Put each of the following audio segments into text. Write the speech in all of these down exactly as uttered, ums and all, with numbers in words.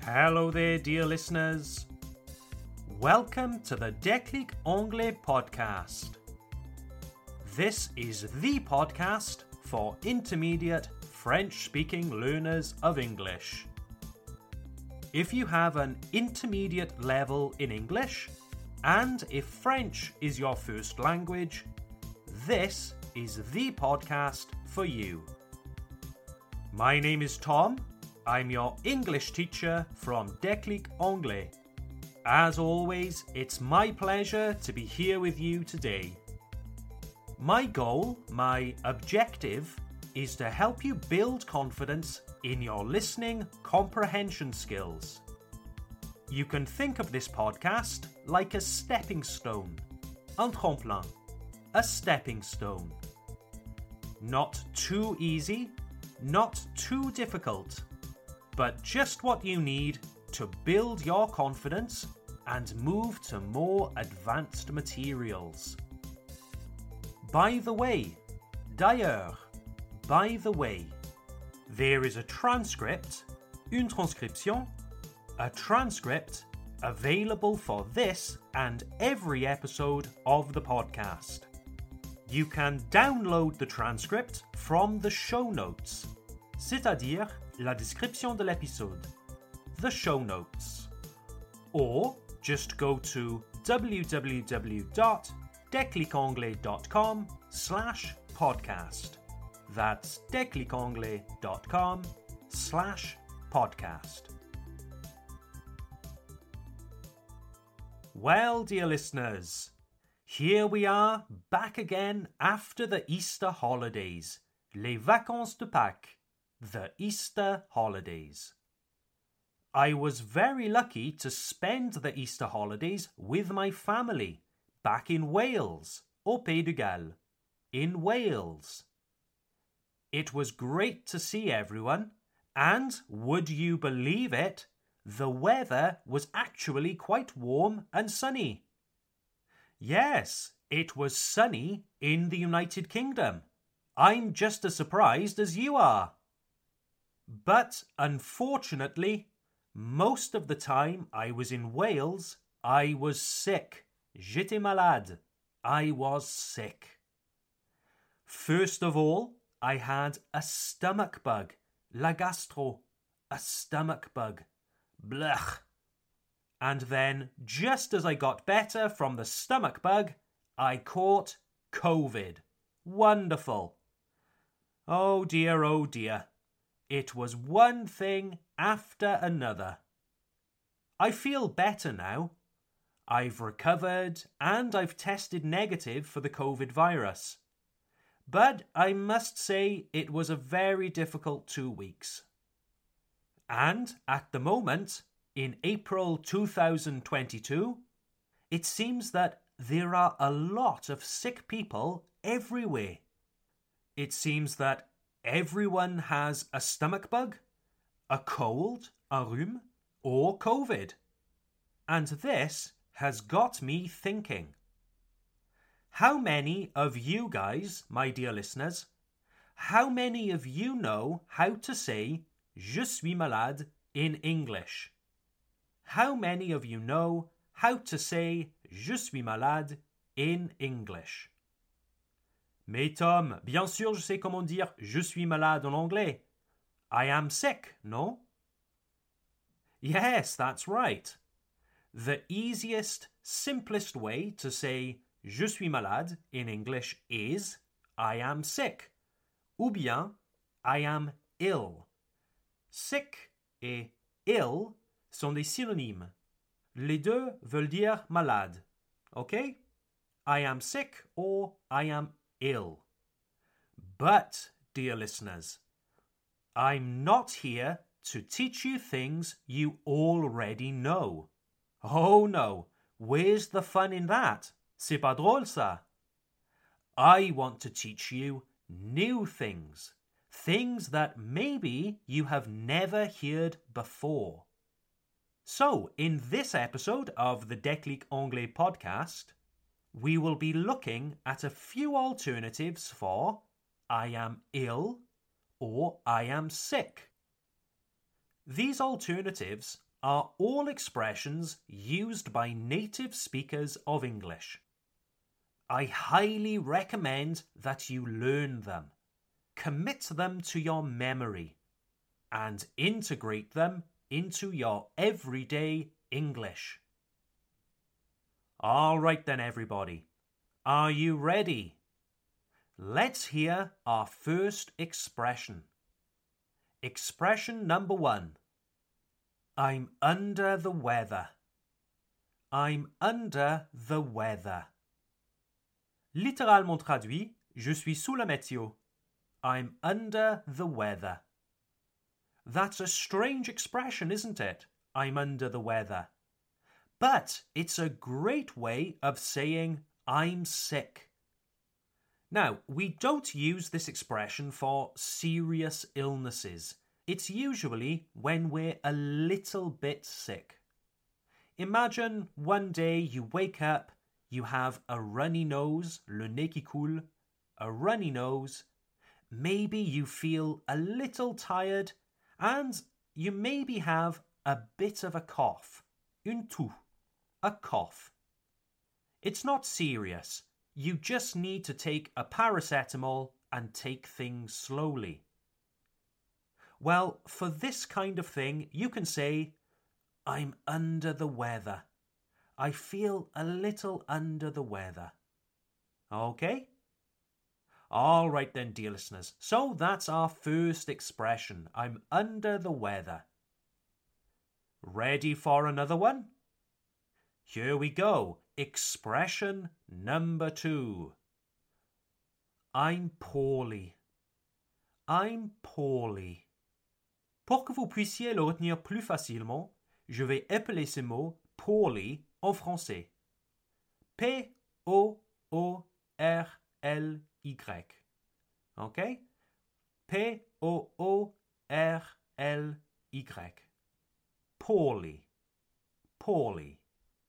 Hello there, dear listeners. Welcome to the Déclic Anglais podcast. This is the podcast for intermediate French-speaking learners of English. If you have an intermediate level in English, and if French is your first language, this is the podcast for you. My name is Tom. I'm your English teacher from Déclic Anglais. As always, it's my pleasure to be here with you today. My goal, my objective, is to help you build confidence in your listening comprehension skills. You can think of this podcast like a stepping stone, un tremplin, a stepping stone. Not too easy, not too difficult, but just what you need to build your confidence and move to more advanced materials. By the way, d'ailleurs, by the way, there is a transcript, une transcription, a transcript available for this and every episode of the podcast. You can download the transcript from the show notes, c'est-à-dire la description de l'épisode, the show notes. Or just go to www.declicanglais.com slash podcast. That's declicanglais.com slash podcast. Well, dear listeners, here we are back again after the Easter holidays, les vacances de Pâques. The Easter holidays. I was very lucky to spend the Easter holidays with my family back in Wales, au Pays de Galles, in Wales. It was great to see everyone, and would you believe it, the weather was actually quite warm and sunny. Yes, it was sunny in the United Kingdom. I'm just as surprised as you are. But unfortunately, most of the time I was in Wales, I was sick. J'étais malade. I was sick. First of all, I had a stomach bug. La gastro. A stomach bug. Blech. And then, just as I got better from the stomach bug, I caught COVID. Wonderful. Oh dear, oh dear. It was one thing after another. I feel better now. I've recovered and I've tested negative for the COVID virus. But I must say it was a very difficult two weeks. And at the moment, in April two thousand twenty-two, it seems that there are a lot of sick people everywhere. It seems that everyone has a stomach bug, a cold, a rhume, or COVID. And this has got me thinking. How many of you guys, my dear listeners, how many of you know how to say je suis malade in English? How many of you know how to say je suis malade in English? Mais Tom, bien sûr je sais comment dire je suis malade en anglais. I am sick, no? Yes, that's right. The easiest, simplest way to say je suis malade in English is I am sick. Ou bien I am ill. Sick et ill sont des synonymes. Les deux veulent dire malade. Okay? I am sick or I am ill. But, dear listeners, I'm not here to teach you things you already know. Oh no, where's the fun in that? C'est pas drôle ça. I want to teach you new things. Things that maybe you have never heard before. So, in this episode of the Déclic Anglais podcast, we will be looking at a few alternatives for I am ill or I am sick. These alternatives are all expressions used by native speakers of English. I highly recommend that you learn them, commit them to your memory, and integrate them into your everyday English. All right then, everybody. Are you ready? Let's hear our first expression. Expression number one. I'm under the weather. I'm under the weather. Littéralement traduit, je suis sous la météo. I'm under the weather. That's a strange expression, isn't it? I'm under the weather. But it's a great way of saying I'm sick. Now, we don't use this expression for serious illnesses. It's usually when we're a little bit sick. Imagine one day you wake up, you have a runny nose, le nez qui coule, a runny nose. Maybe you feel a little tired and you maybe have a bit of a cough, une toux, a cough. It's not serious. You just need to take a paracetamol and take things slowly. Well, for this kind of thing, you can say, I'm under the weather. I feel a little under the weather. Okay? All right then, dear listeners. So that's our first expression. I'm under the weather. Ready for another one? Here we go. Expression number two. I'm poorly. I'm poorly. Pour que vous puissiez le retenir plus facilement, je vais épeler ce mot poorly en français. P O O R L Y. OK? P O O R L Y. Poorly. Poorly.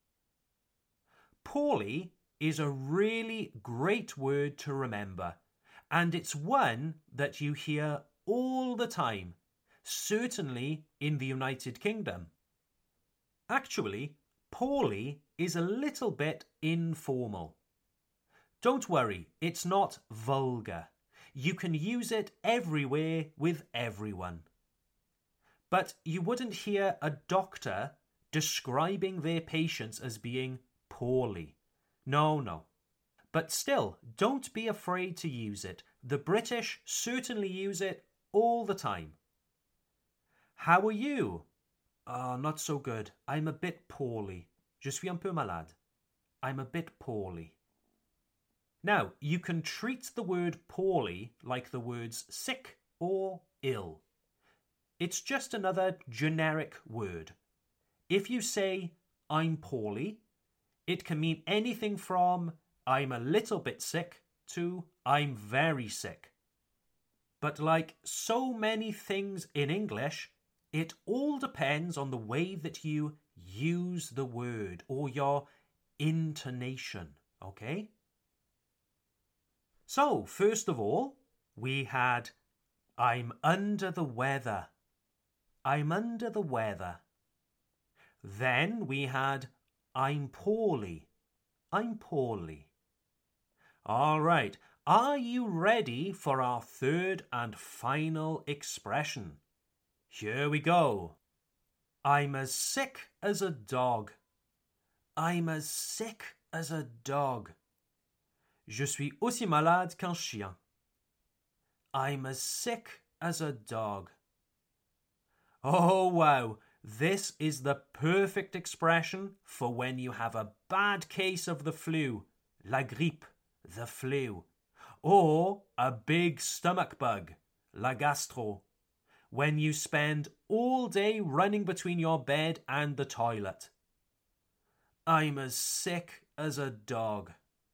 Poorly is a really great word to remember, and it's one that you hear all the time, certainly in the United Kingdom. Actually, poorly is a little bit informal. Don't worry, it's not vulgar. You can use it everywhere with everyone. But you wouldn't hear a doctor describing their patients as being poorly. No, no. But still, don't be afraid to use it. The British certainly use it all the time. How are you? Ah, oh, not so good. I'm a bit poorly. Je suis un peu malade. I'm a bit poorly. Now, you can treat the word poorly like the words sick or ill. It's just another generic word. If you say, I'm poorly, it can mean anything from I'm a little bit sick to I'm very sick. But like so many things in English, it all depends on the way that you use the word or your intonation, okay? So, first of all, we had I'm under the weather. I'm under the weather. Then we had I'm poorly. I'm poorly. All right. Are you ready for our third and final expression? Here we go. I'm as sick as a dog. I'm as sick as a dog. Je suis aussi malade qu'un chien. I'm as sick as a dog. Oh, wow. This is the perfect expression for when you have a bad case of the flu, la grippe, the flu, or a big stomach bug, la gastro, when you spend all day running between your bed and the toilet. I'm as sick as a dog.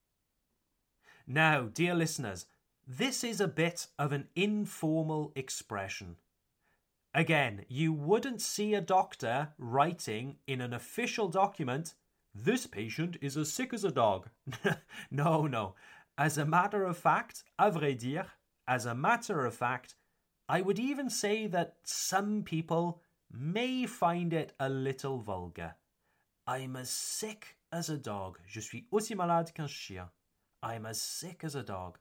Now, dear listeners, this is a bit of an informal expression. Again, you wouldn't see a doctor writing in an official document, this patient is as sick as a dog. No, no. As a matter of fact, à vrai dire, as a matter of fact, I would even say that some people may find it a little vulgar. I'm as sick as a dog. Je suis aussi malade qu'un chien. I'm as sick as a dog.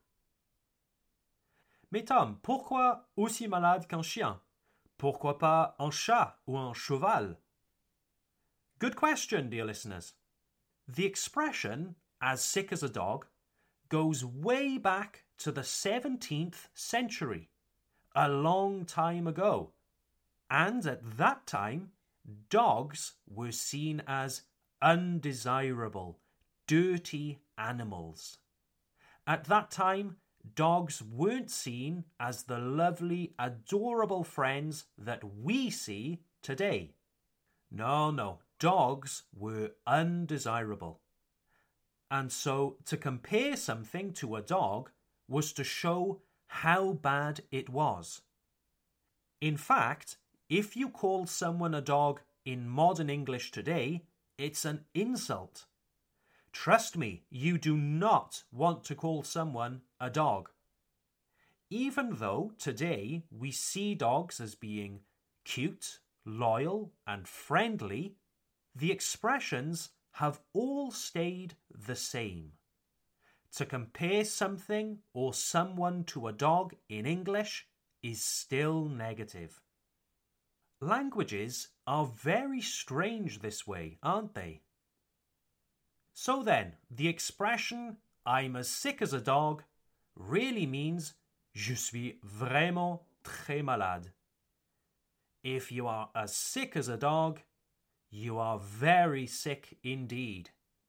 Mais Tom, pourquoi aussi malade qu'un chien? Pourquoi pas un chat ou un cheval? Good question, dear listeners. The expression, as sick as a dog, goes way back to the seventeenth century, a long time ago. And at that time, dogs were seen as undesirable, dirty animals. At that time, dogs weren't seen as the lovely, adorable friends that we see today. No, no, dogs were undesirable. And so to compare something to a dog was to show how bad it was. In fact, if you call someone a dog in modern English today, it's an insult. Trust me, you do not want to call someone a dog. Even though today we see dogs as being cute, loyal, and friendly, the expressions have all stayed the same. To compare something or someone to a dog in English is still negative. Languages are very strange this way, aren't they? So then, the expression I'm as sick as a dog really means je suis vraiment très malade. If you are as sick as a dog, you are very sick indeed.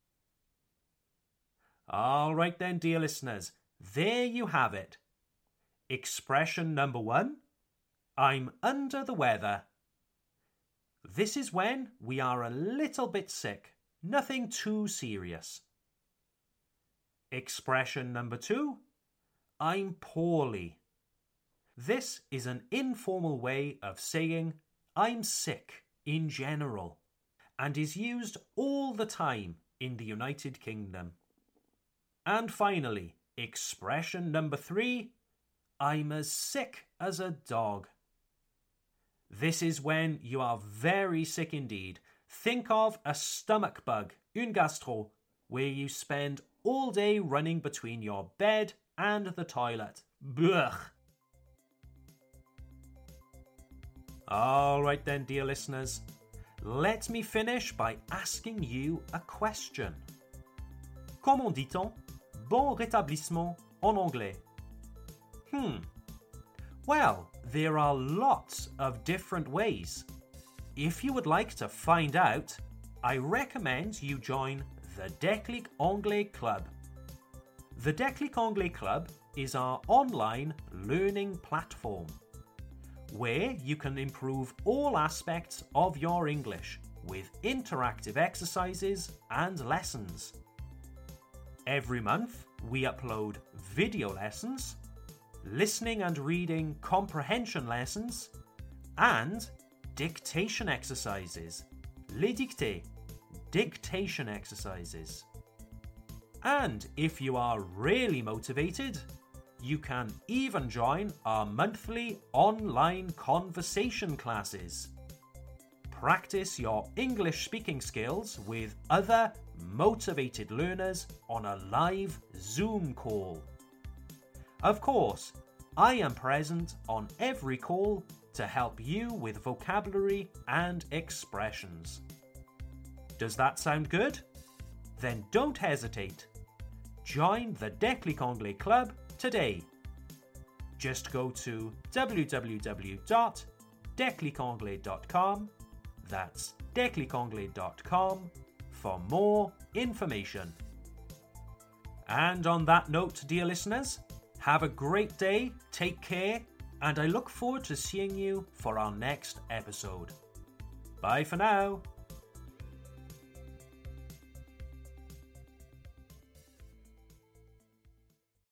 All right then, dear listeners, there you have it. Expression number one, I'm under the weather. This is when we are a little bit sick, nothing too serious. Expression number two, I'm poorly. This is an informal way of saying I'm sick in general and is used all the time in the United Kingdom. And finally, expression number three, I'm as sick as a dog. This is when you are very sick indeed. Think of a stomach bug, une gastro, where you spend all day running between your bed and the toilet. Blech. All right then, dear listeners. Let me finish by asking you a question. Comment dit-on bon rétablissement en anglais? Hmm. Well, there are lots of different ways. If you would like to find out, I recommend you join the Déclic Anglais Club. The Déclic Anglais Club is our online learning platform, where you can improve all aspects of your English with interactive exercises and lessons. Every month, we upload video lessons, listening and reading comprehension lessons, and dictation exercises. Les dictées, dictation exercises. And if you are really motivated, you can even join our monthly online conversation classes. Practice your English speaking skills with other motivated learners on a live Zoom call. Of course, I am present on every call to help you with vocabulary and expressions. Does that sound good? Then don't hesitate. Join the Déclic Anglais Club today. Just go to w w w dot déclic anglais dot com, that's déclic anglais dot com, for more information. And on that note, dear listeners, have a great day, take care, and I look forward to seeing you for our next episode. Bye for now.